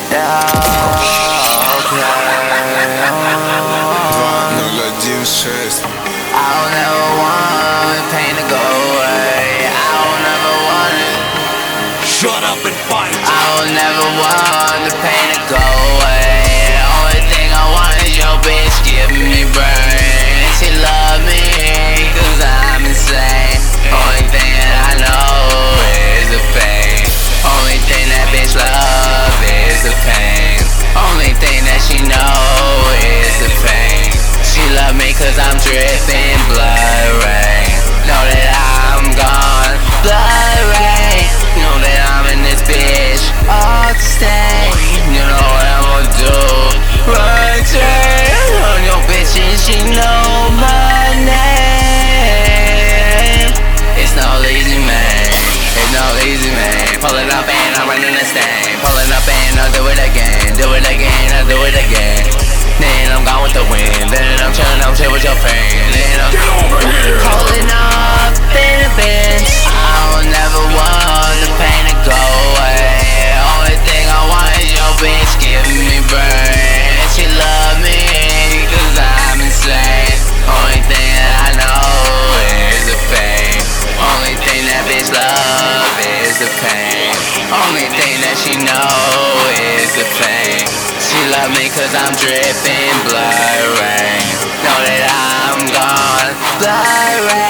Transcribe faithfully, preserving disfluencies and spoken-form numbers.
Yeah, okay. ноль один шесть. I don't ever want pain to go away. I don't ever want it. Shut up and fight. I don't ever want the pain to go away. Only thing I want is your bitch giving me brain. She love me, cause I'm insane. Only thing that I know is the pain. Only thing that bitch love is the pain. Only thing that she know is the pain. She love me cause I'm dripping blood rain. Know that I'm gone, blood rain. Know that I'm in this bitch all to stay. You know what I'm gonna do? Run train on your bitch and she know my name. It's no easy man, it's no easy man. Pulling up and I'm running this thing. Pulling up and I'll do it again. Do it again, I'll do it again. Then I'm gone with the wind. Then I'm chillin', I'm chill with your friend. Then I'm pulling up in a bench. I will never want the pain to go away. Only thing I want is your bitch giving me brain. She love me cause I'm insane. Only thing that I know is the pain. Only thing that bitch love is the pain. Only thing that she know is the pain. She love me cause I'm dripping blood rain. Know that I'm gone, blood rain.